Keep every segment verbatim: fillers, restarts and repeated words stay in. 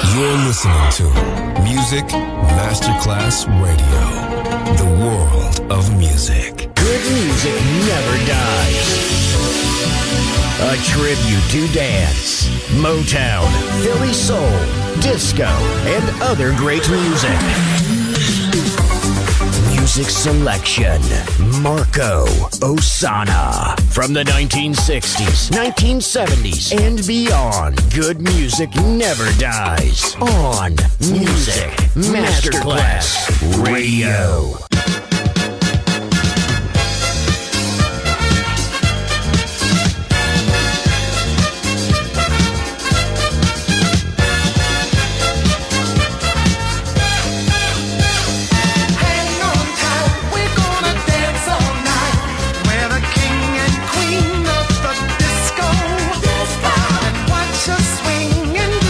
You're listening to Music Masterclass Radio, the world of music. Good music never dies. A tribute to dance, Motown, Philly soul, disco, and other great music. Music selection, Marco Ossanna. From the nineteen sixties, nineteen seventies, and beyond, good music never dies. On Music Masterclass Radio.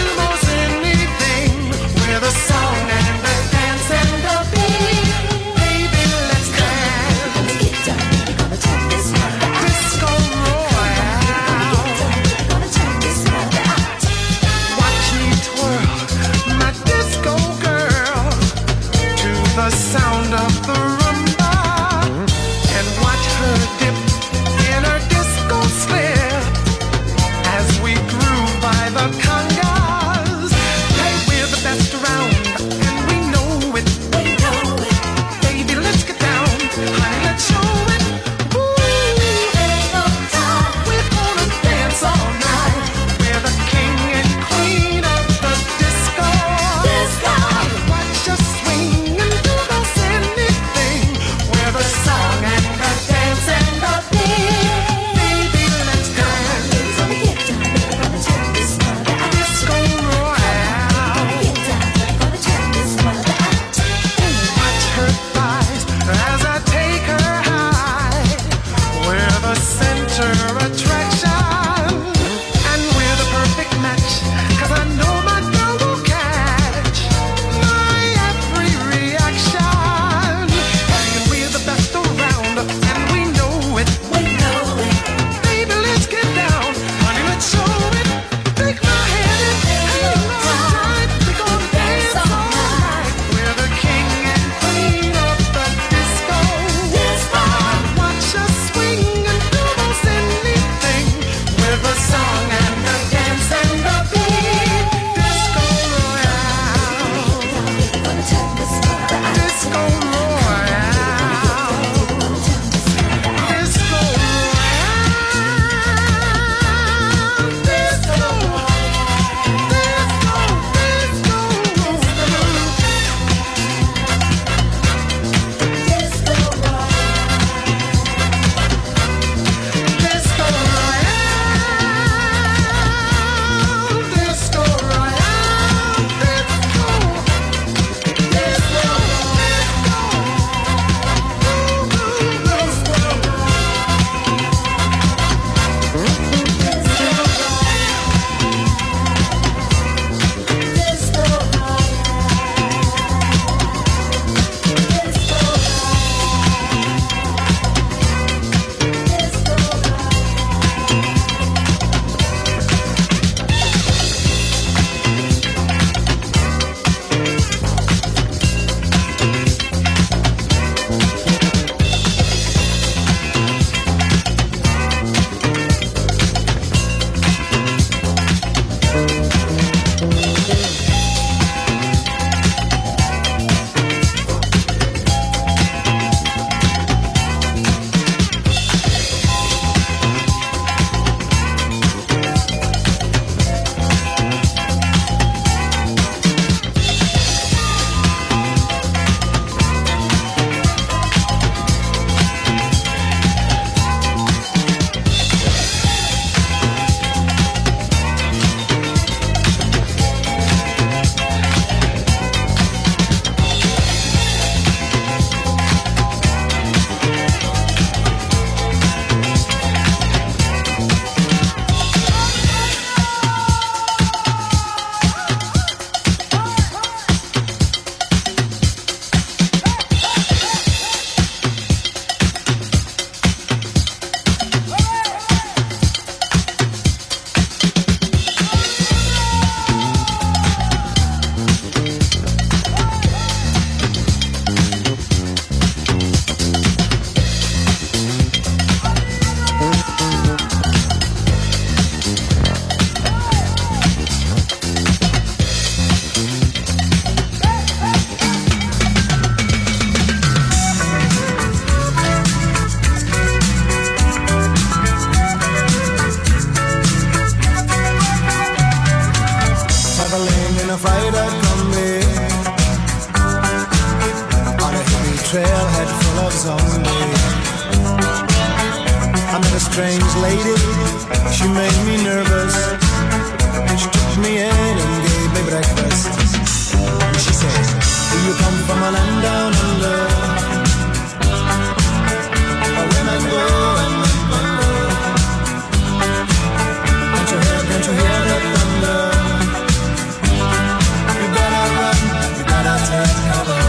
With a song and a dance and a beat. in a Friday combi on a hippie trailhead full of zombies. I met a strange lady, she made me nervous. She took me in and gave me breakfast. And she said, do you come from a land down under? A women go and men wonder. Can't you hear, can't you hear the thunder? You better run, you better take cover.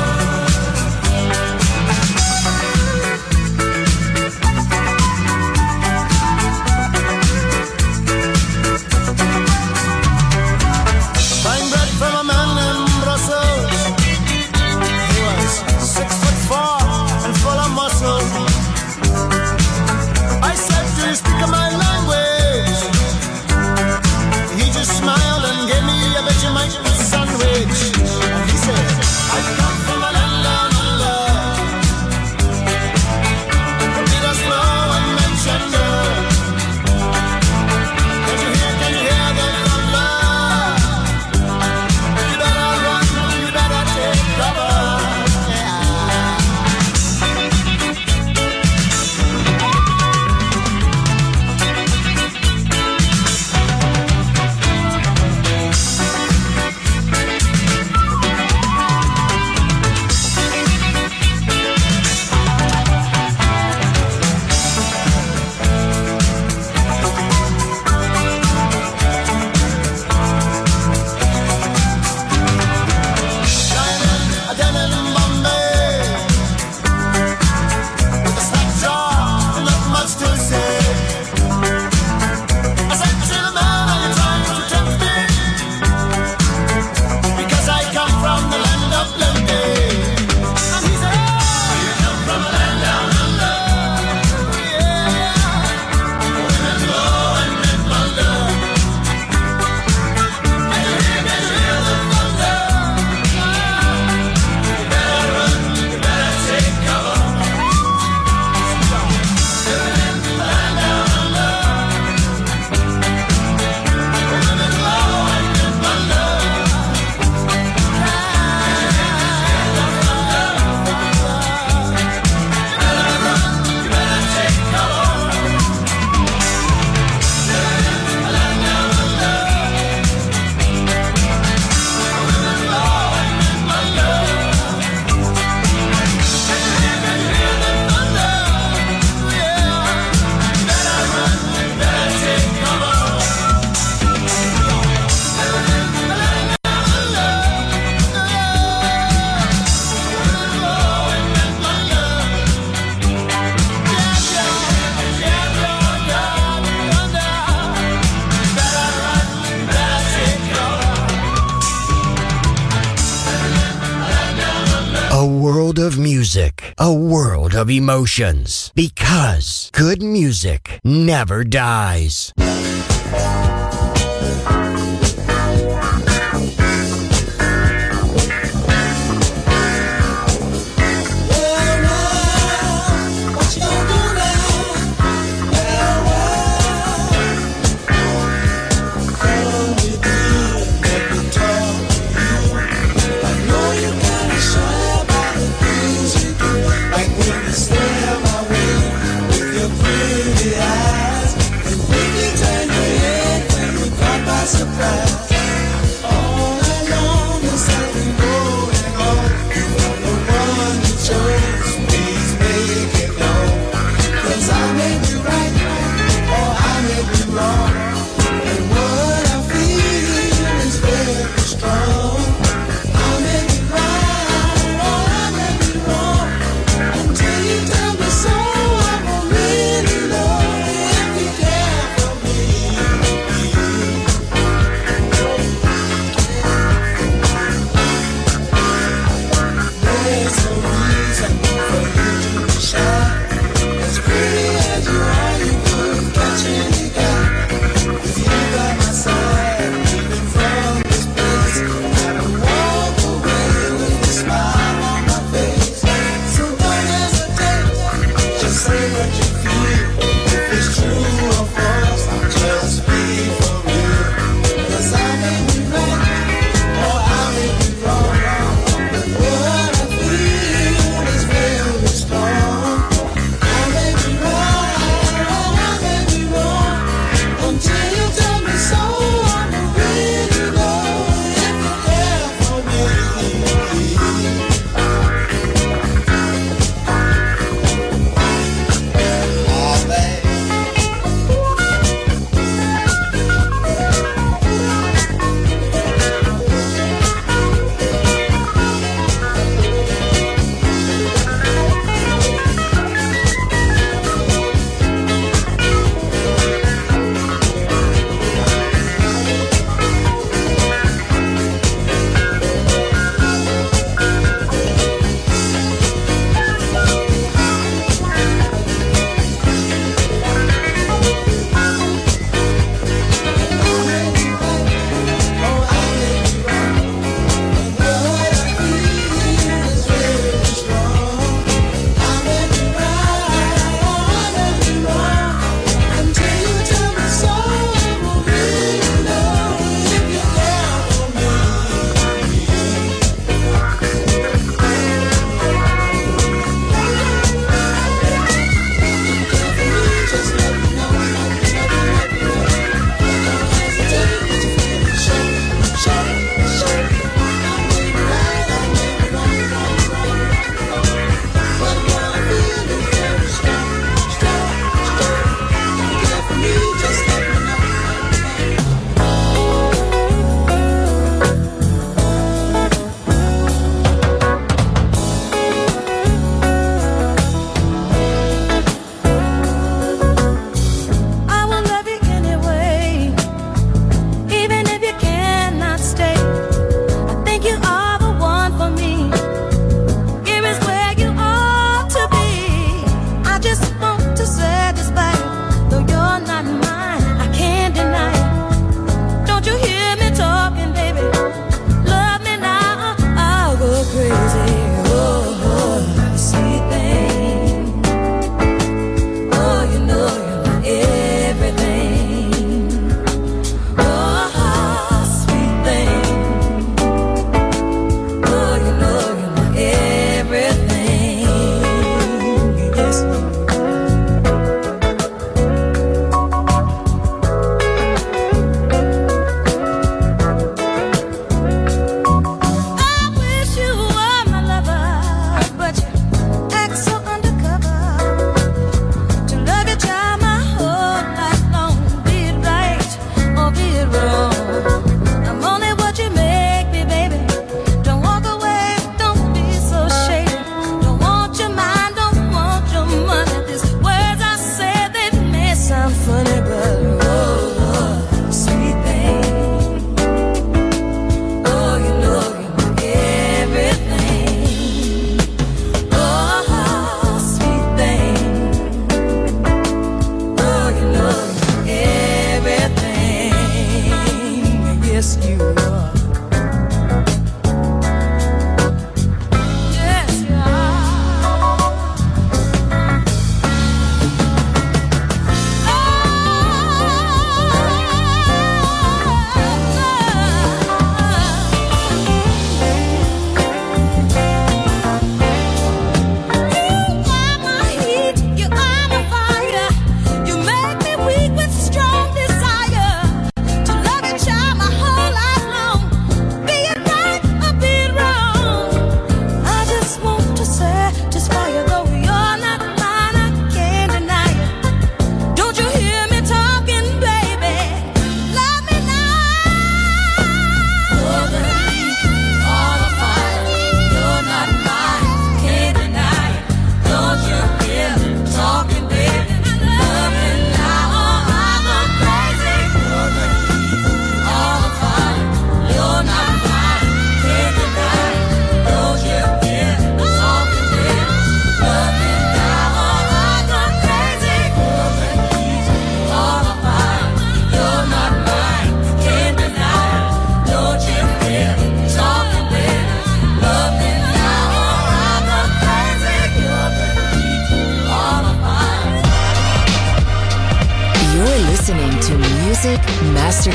Of music, a world of emotions, because good music never dies. Stay my way with your pretty eyes and quickly turn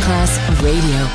Masterclass Radio.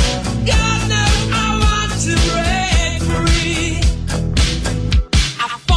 I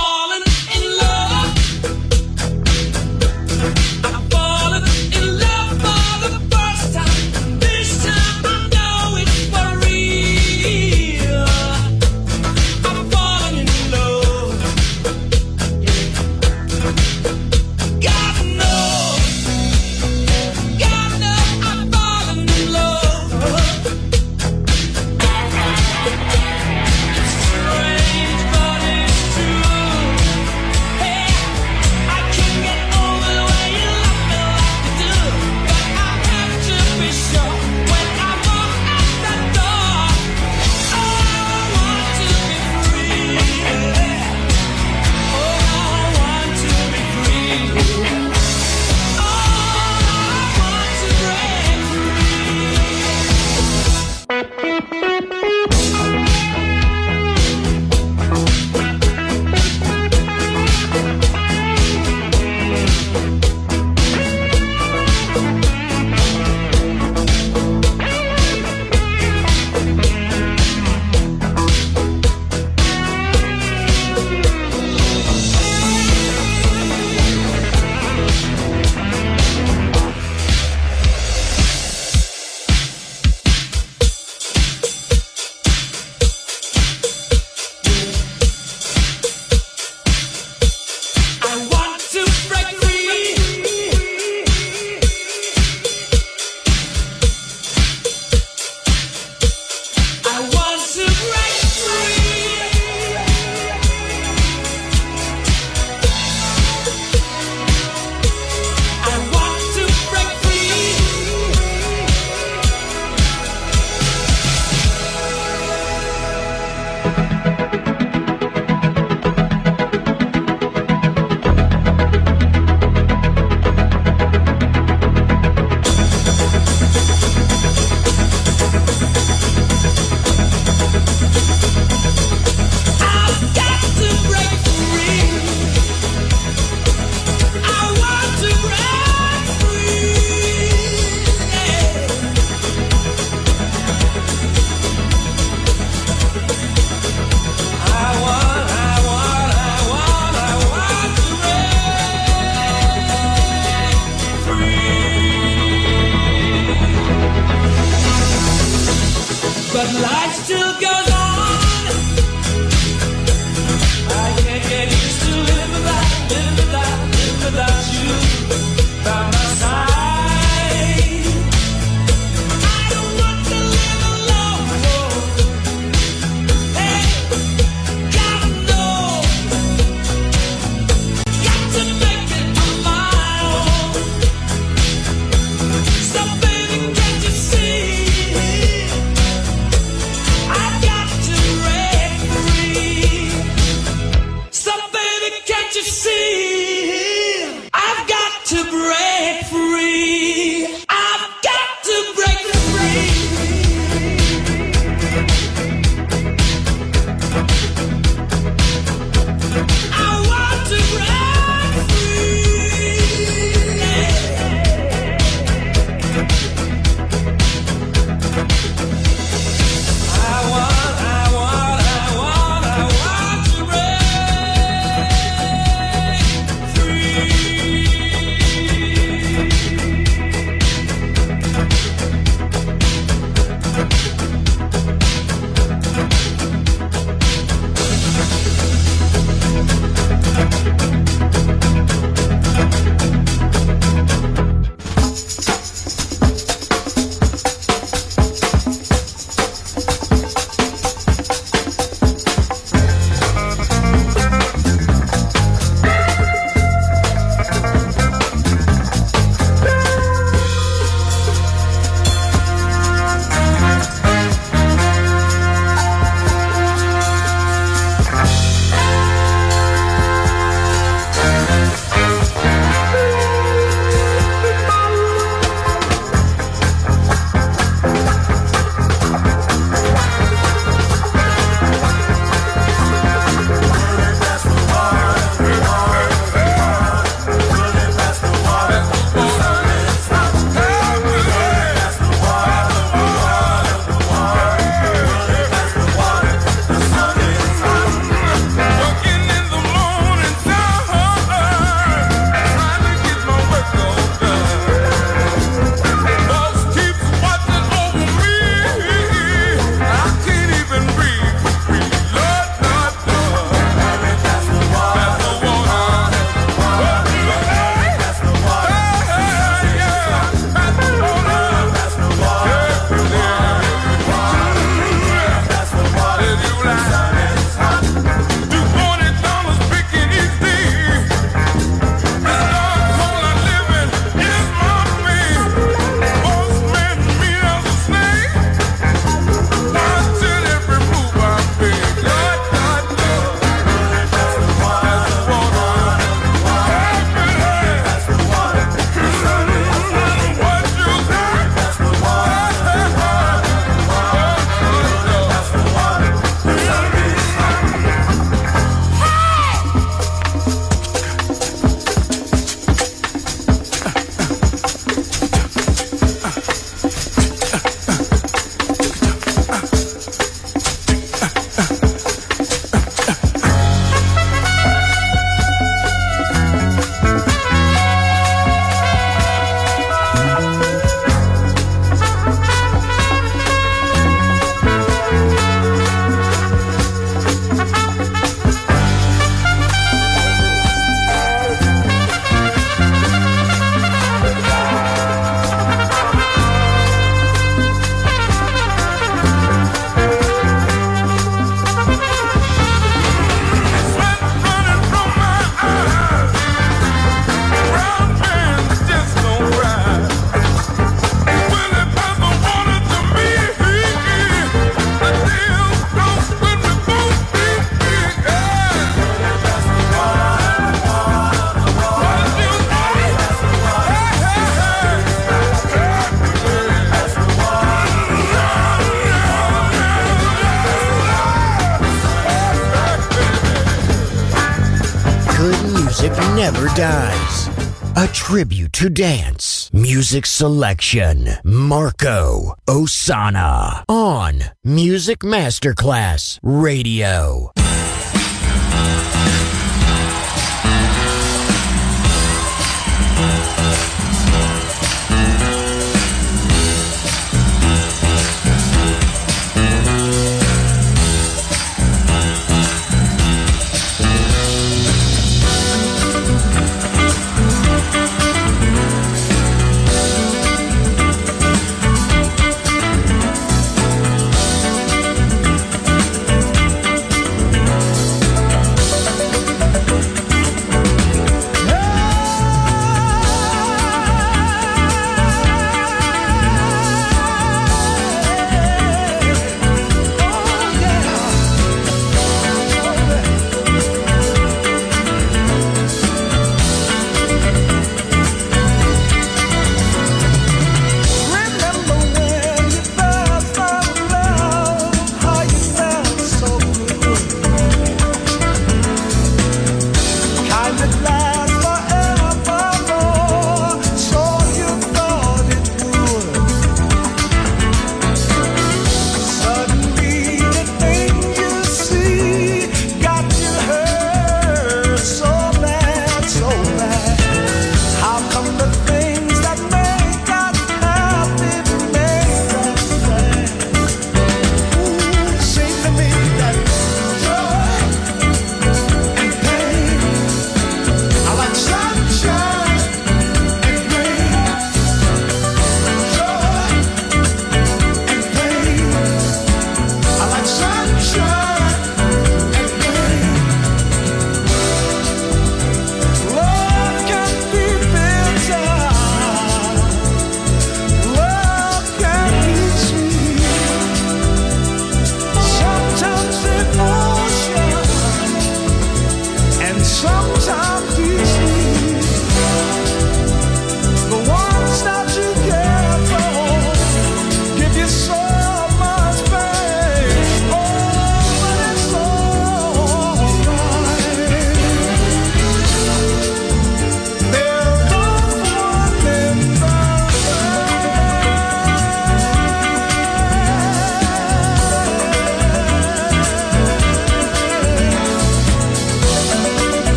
music never dies. A tribute to dance. Music selection. Marco Ossanna. On Music Masterclass Radio.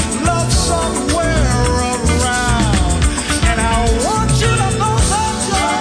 Somewhere around, and I want you to know that you're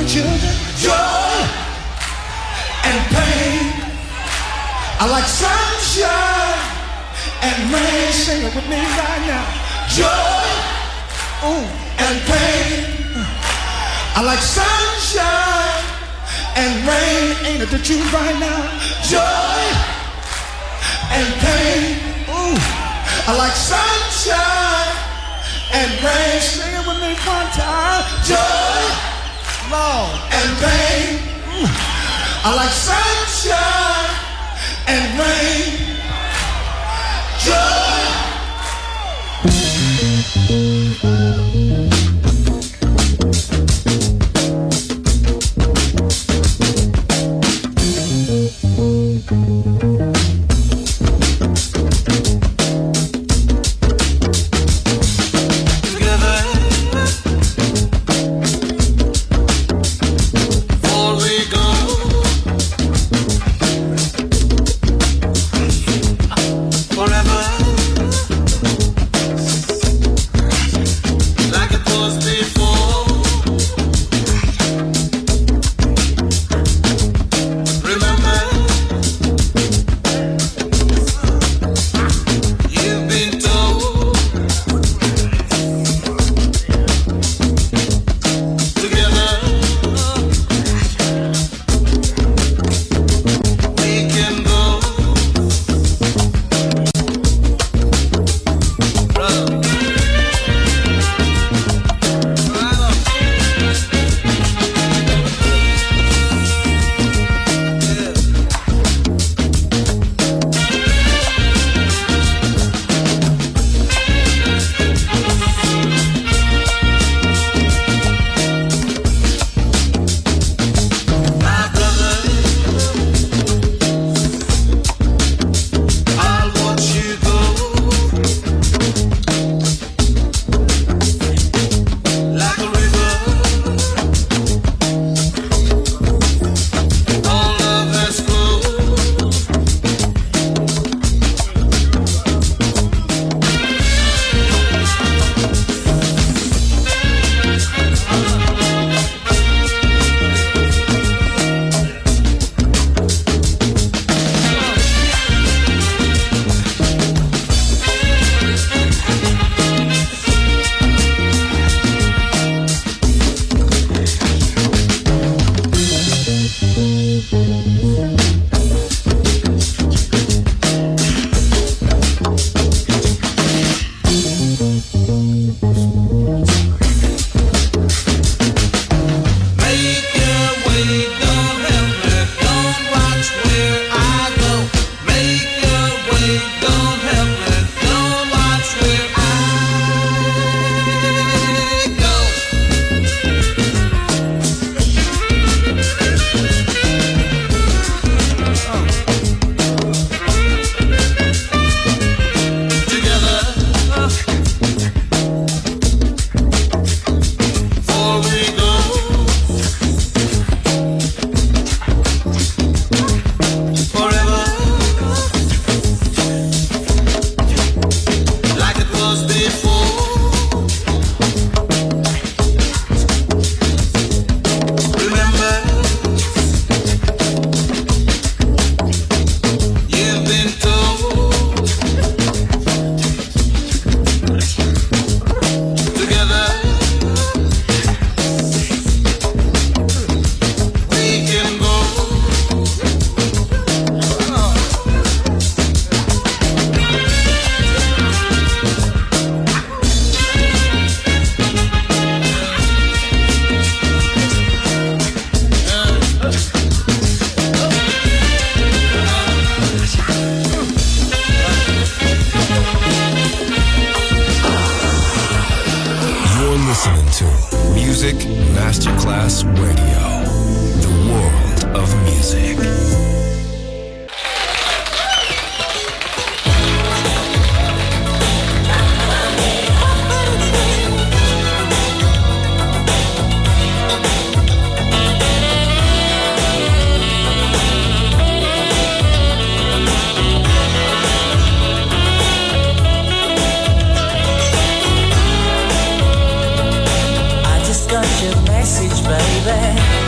and children, joy and pain. I like sunshine and rain. Sing it with me right now. Joy ooh, and pain. I like sunshine and rain. Ain't it the truth right now? Joy and pain. Ooh, I like sunshine and rain. Sing it with me one time. Joy, Lord, and pain. Ooh, I like sunshine and rain. Joy. Music Masterclass Radio, the world of music. Got your message, baby.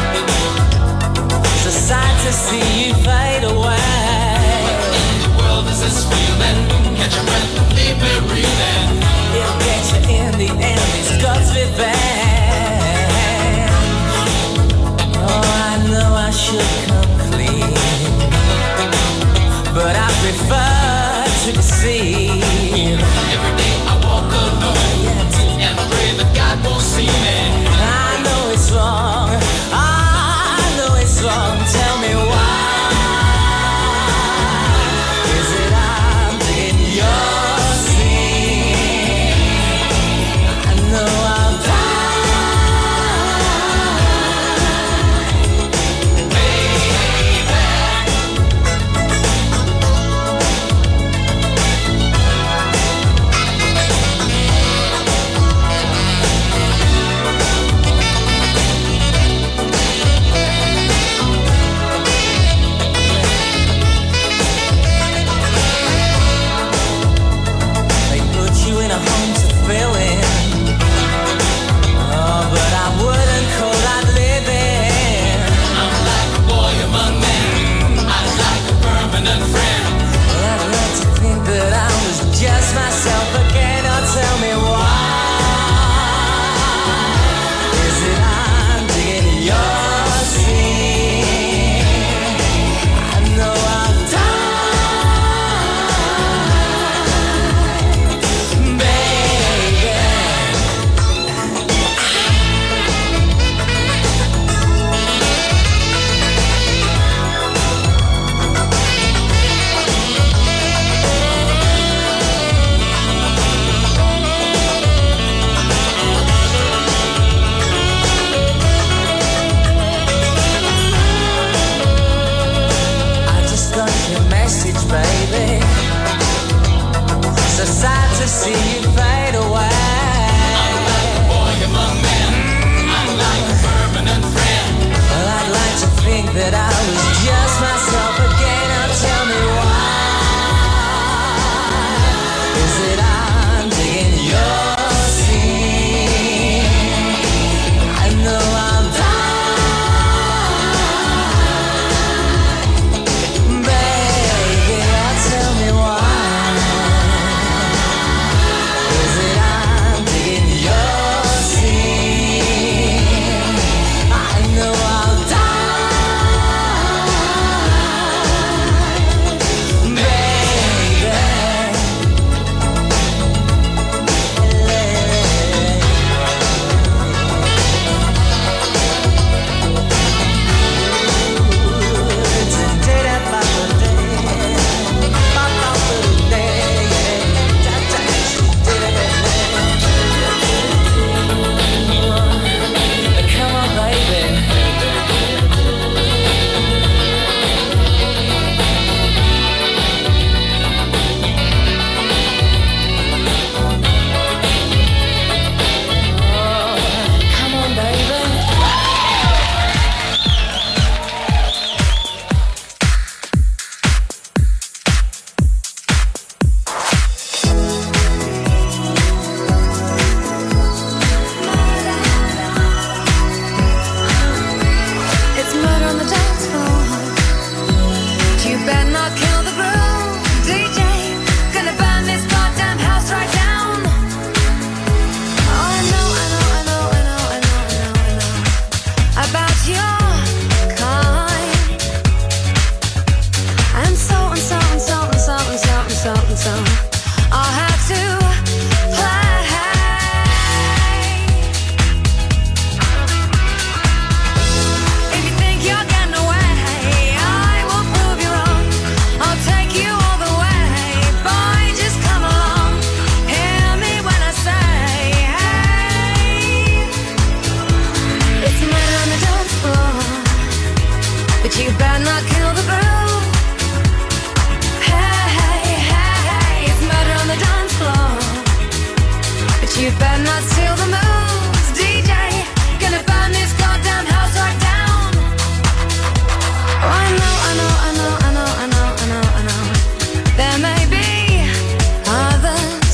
you better not steal the moves, D J. Gonna burn this goddamn house right down. Oh, I know, I know, I know, I know, I know, I know, I know. There may be others,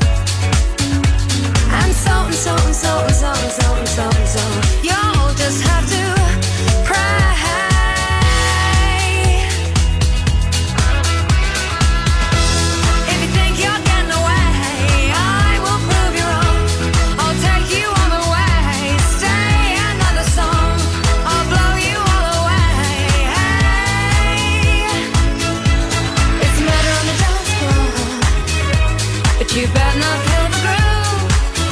and so and so and so and so and so and so and so. You'll just have to pray. You better not kill the groove.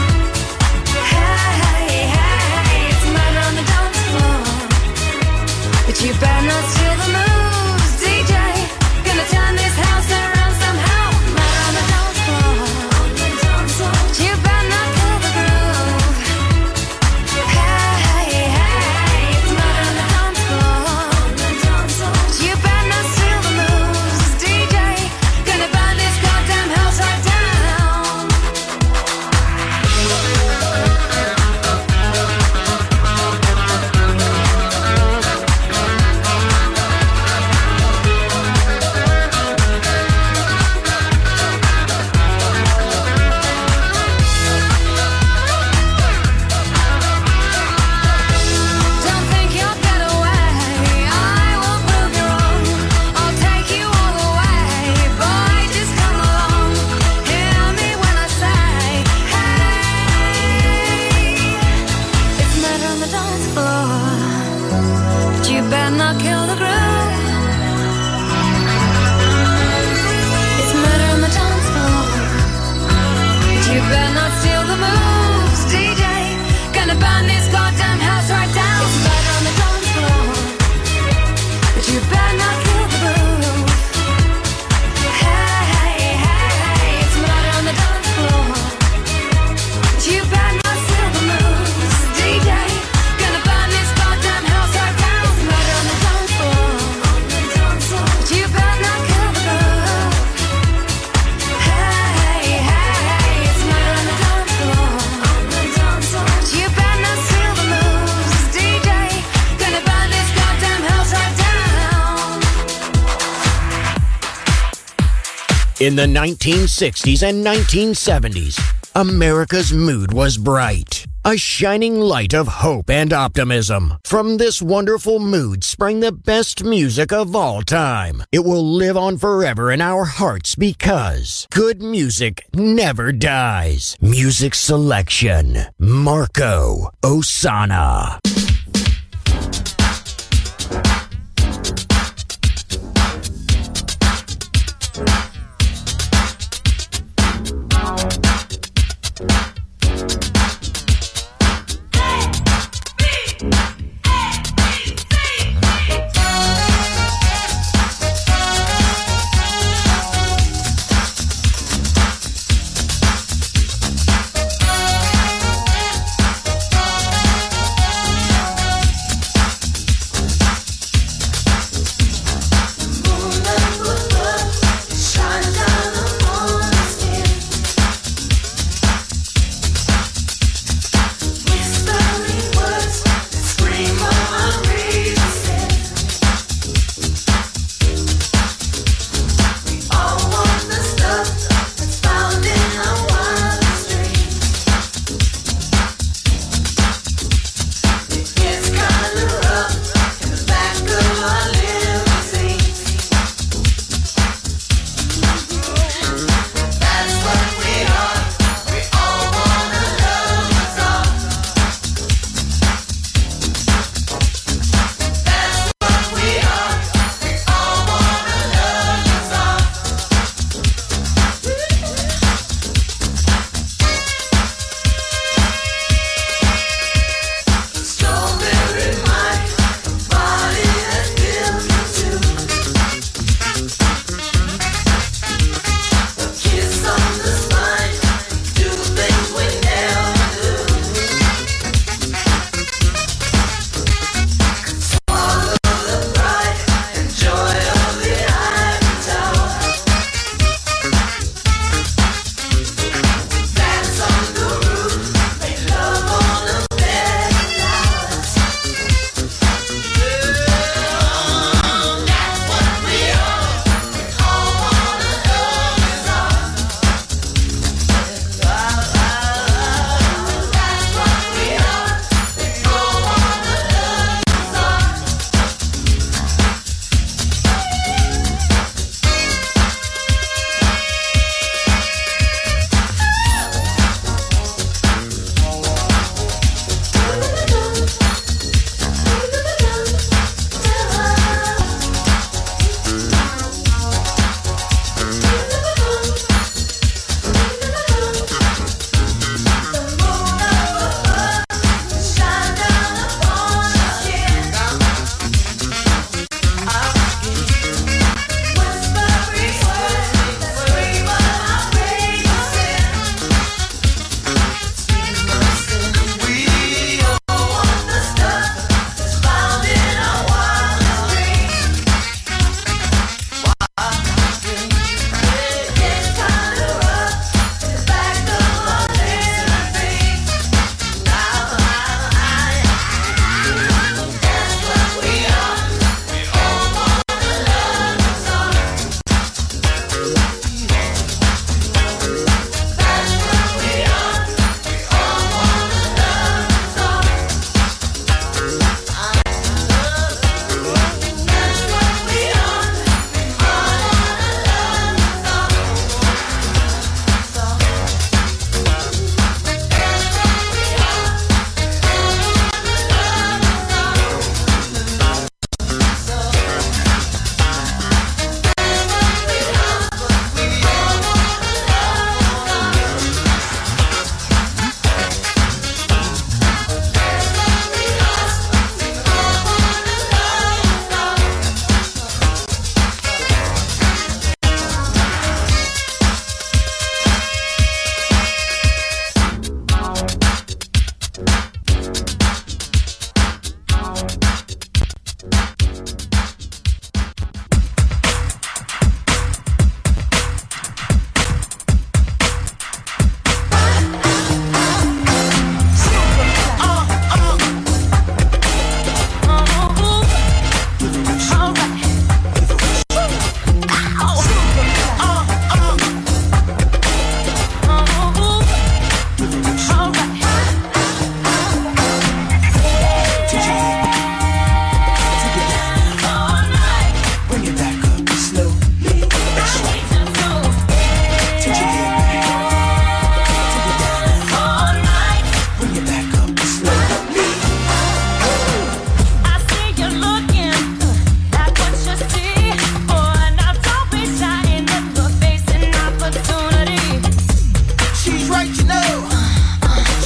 Hey, hey, it's murder on the dance floor. But you better not steal the moves, D J. Gonna turn this house around somehow. Murder on the dance floor. But you better not kill the groove. Hey, hey, it's murder on the dance floor. But you better not steal the moves, D J. Gonna burn this goddamn house right down. In the nineteen sixties and nineteen seventies, America's mood was bright, a shining light of hope and optimism. From this wonderful mood sprang the best music of all time. It will live on forever in our hearts because good music never dies. Music selection, Marco Ossanna.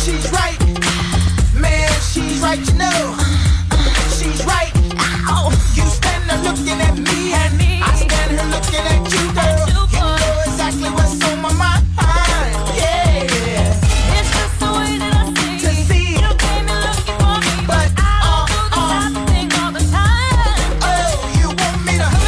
she's right. Man, she's right, you know. She's right. Ow. You stand there looking at me, and me. I stand here looking at you, girl. You, you know exactly what's on my mind. Yeah. It's just the way that I see. To see. You came in looking for me, but I Uh, do the uh. type of thing all the time. Oh, you want me to?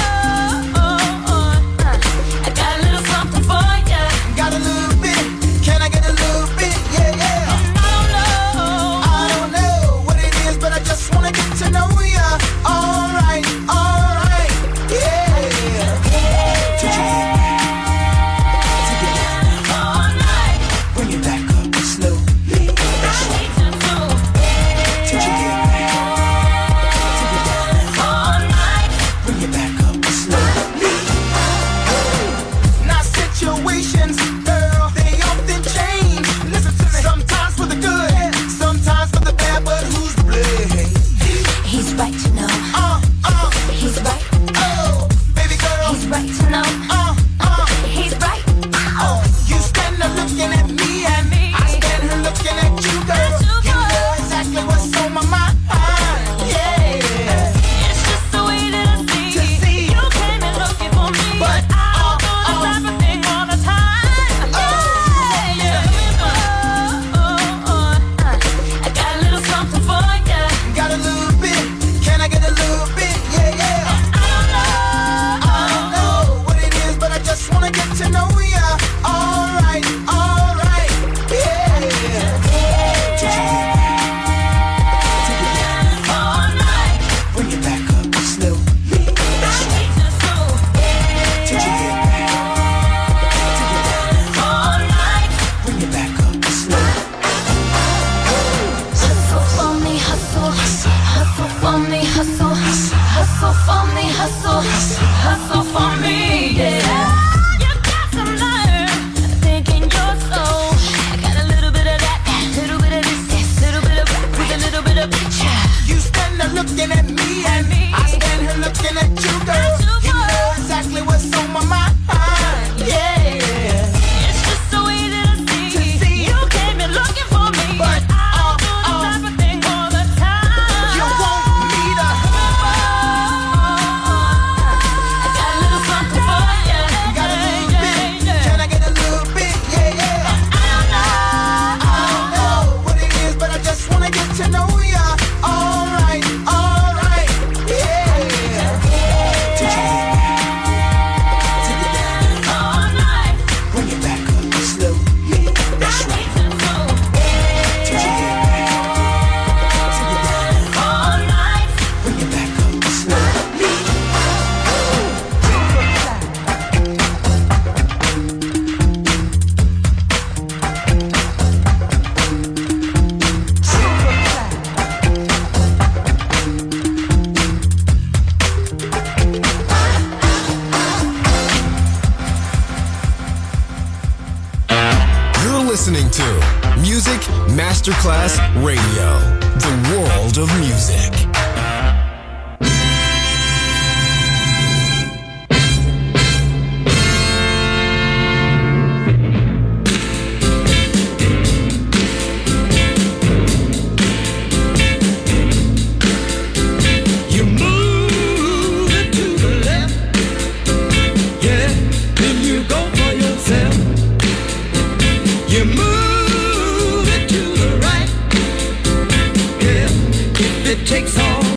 I got a little something for ya. Got a little bit. Can I get a little bit? Yeah, yeah. I don't know. I don't know what it is, but I just wanna get to know ya. All right, all right, yeah. Touch your head back, take it down, All night, bring it back up slowly. That's I right. need you to. Touch your head back, take it down, All night, bring it back up slowly. Now situations, girl, they often change. Listen to me. Sometimes for the good, sometimes for the bad, but who's to blame? he's right to know. Uh, uh, He's right. oh, baby girl. He's right to know. Uh, uh, He's right. oh, you stand there looking at me, and Me. I stand here looking at you, girl. At you, You girl. know exactly what's on my mind. Yeah. It's just the way that I see. To see. You came in looking for me, But, but I'll uh, do the uh. type of thing all the time. Oh, Yeah, yeah. Oh, oh, oh. I got a little something for ya. Got a little bit. Can I get a little bit? Yeah, yeah. I don't know. I don't know what it is, but I just wanna get to know ya. All right, all right, yeah. Touch your head back, take it down, All night, bring it back up slowly. That's I right. need you to. Touch your head back, take it down, All night, bring it back up slowly. hustle for me, hustle, hustle for me, hustle, hustle for me, hustle, hustle for me, yeah. You got some nerve, thinking you're so. I got a little bit of that, little bit of this, little bit of rap with a little bit of picture. You stand there looking at me, and me. I stand here looking at you, girl. At you, You girl. know exactly what's on my mind. Yeah. It's just the way that I see. To see. You came in looking for me, But, but I'll uh, do the uh. type of thing all the time. You want me to? I got a little something for ya. Got a little Yeah, bit. yeah, Can I get a little bit? Yeah, yeah. I don't know. I don't know what it is, but I just wanna get to know ya. All right, all right, yeah. Touch your head back, take it down, All night, bring it back up slowly. That's right. Touch your head back, take it down, all night, bring it back up slowly. You're listening to Music Masterclass Radio, the world of music. You move it to the left, yeah, then you go for yourself. You move it to the right, yeah, if it takes all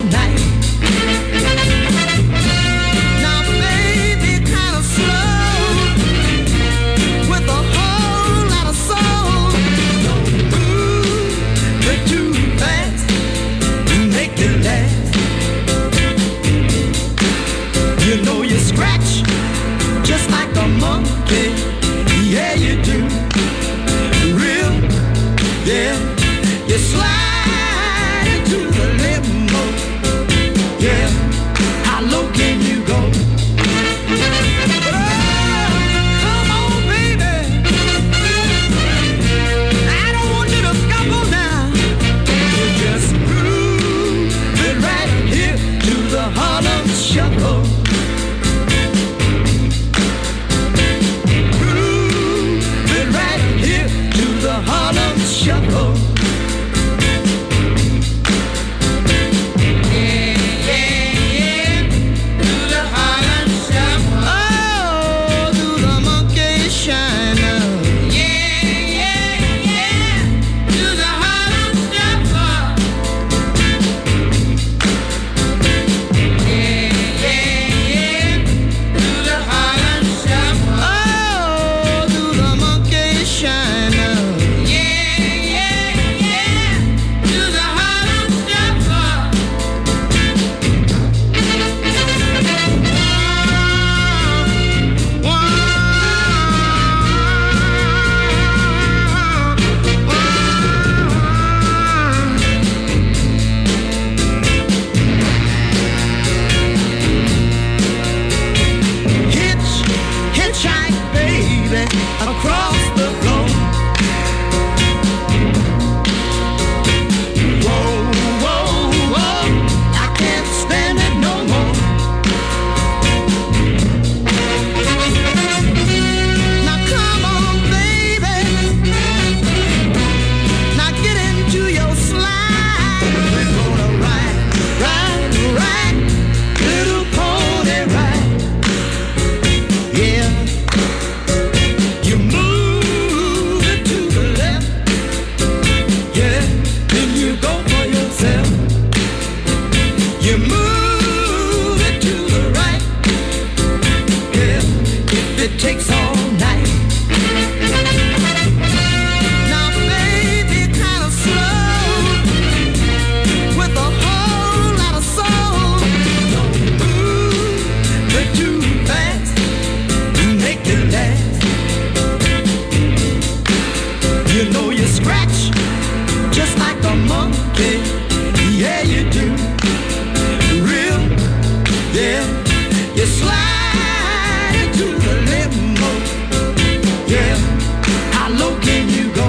You know you scratch just like a monkey. Yeah, you do. Real, yeah. You slide into the limbo. Yeah. How low can you go?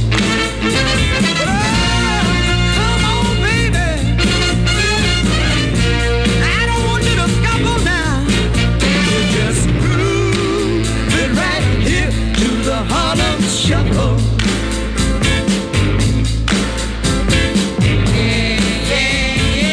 Harlem Shuffle. Yeah, yeah,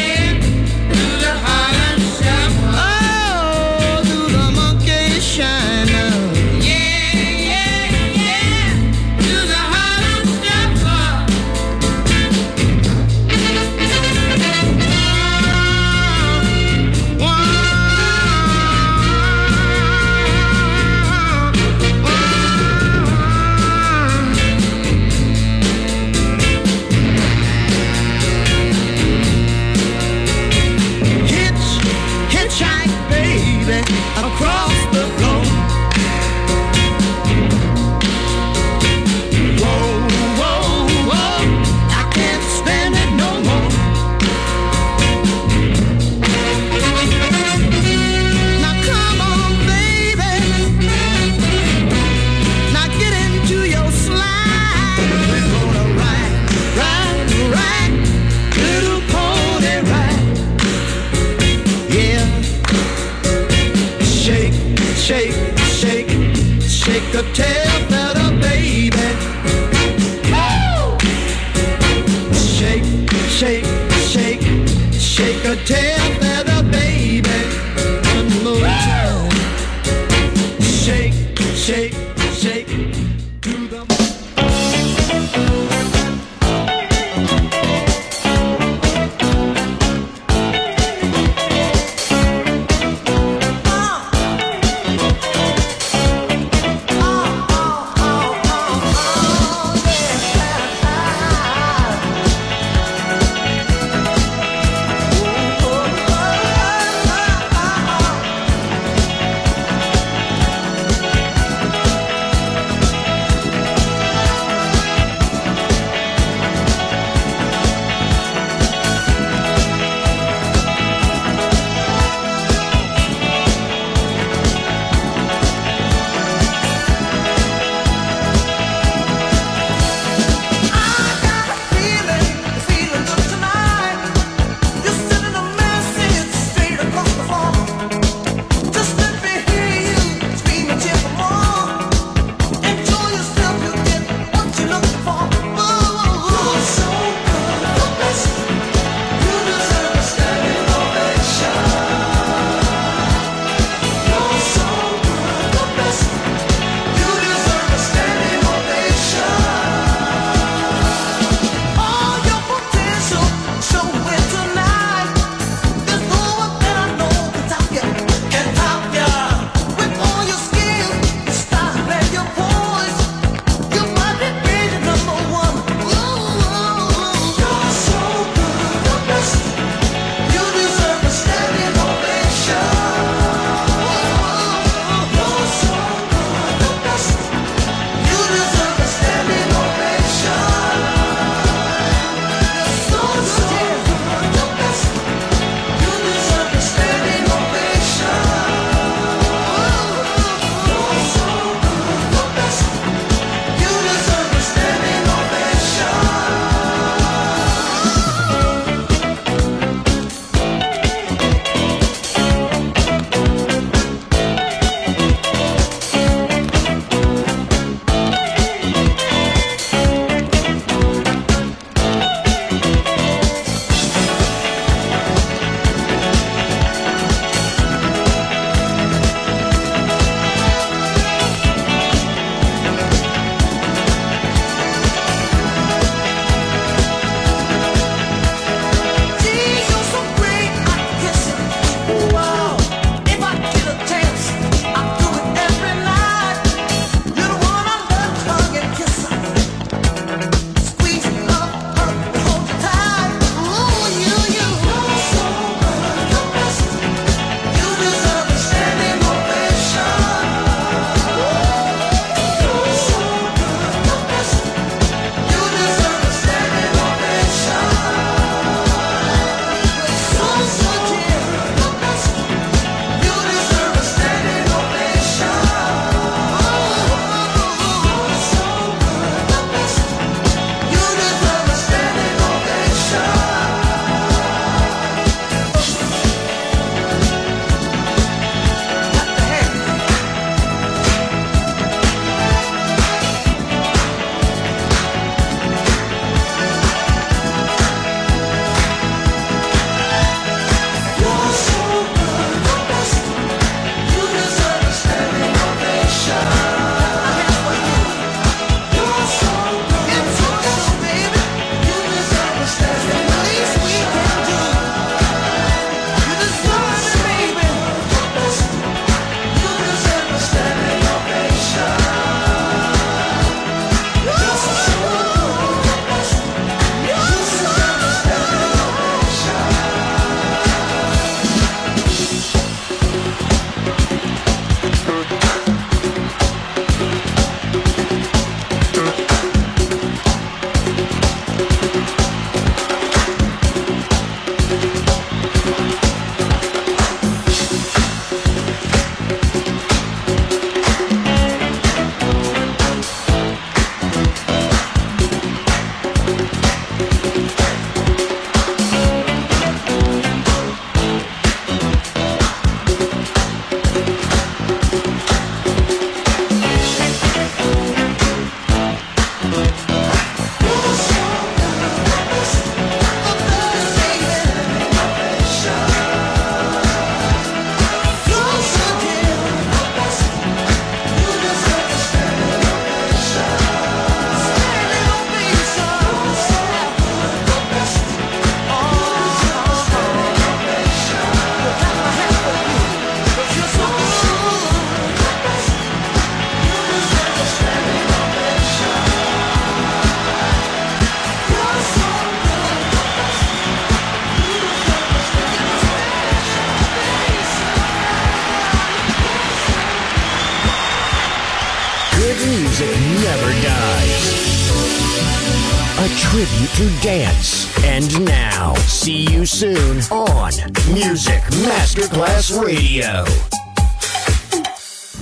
Good music never dies. A tribute to dance. And now, see you soon on Music Masterclass Radio.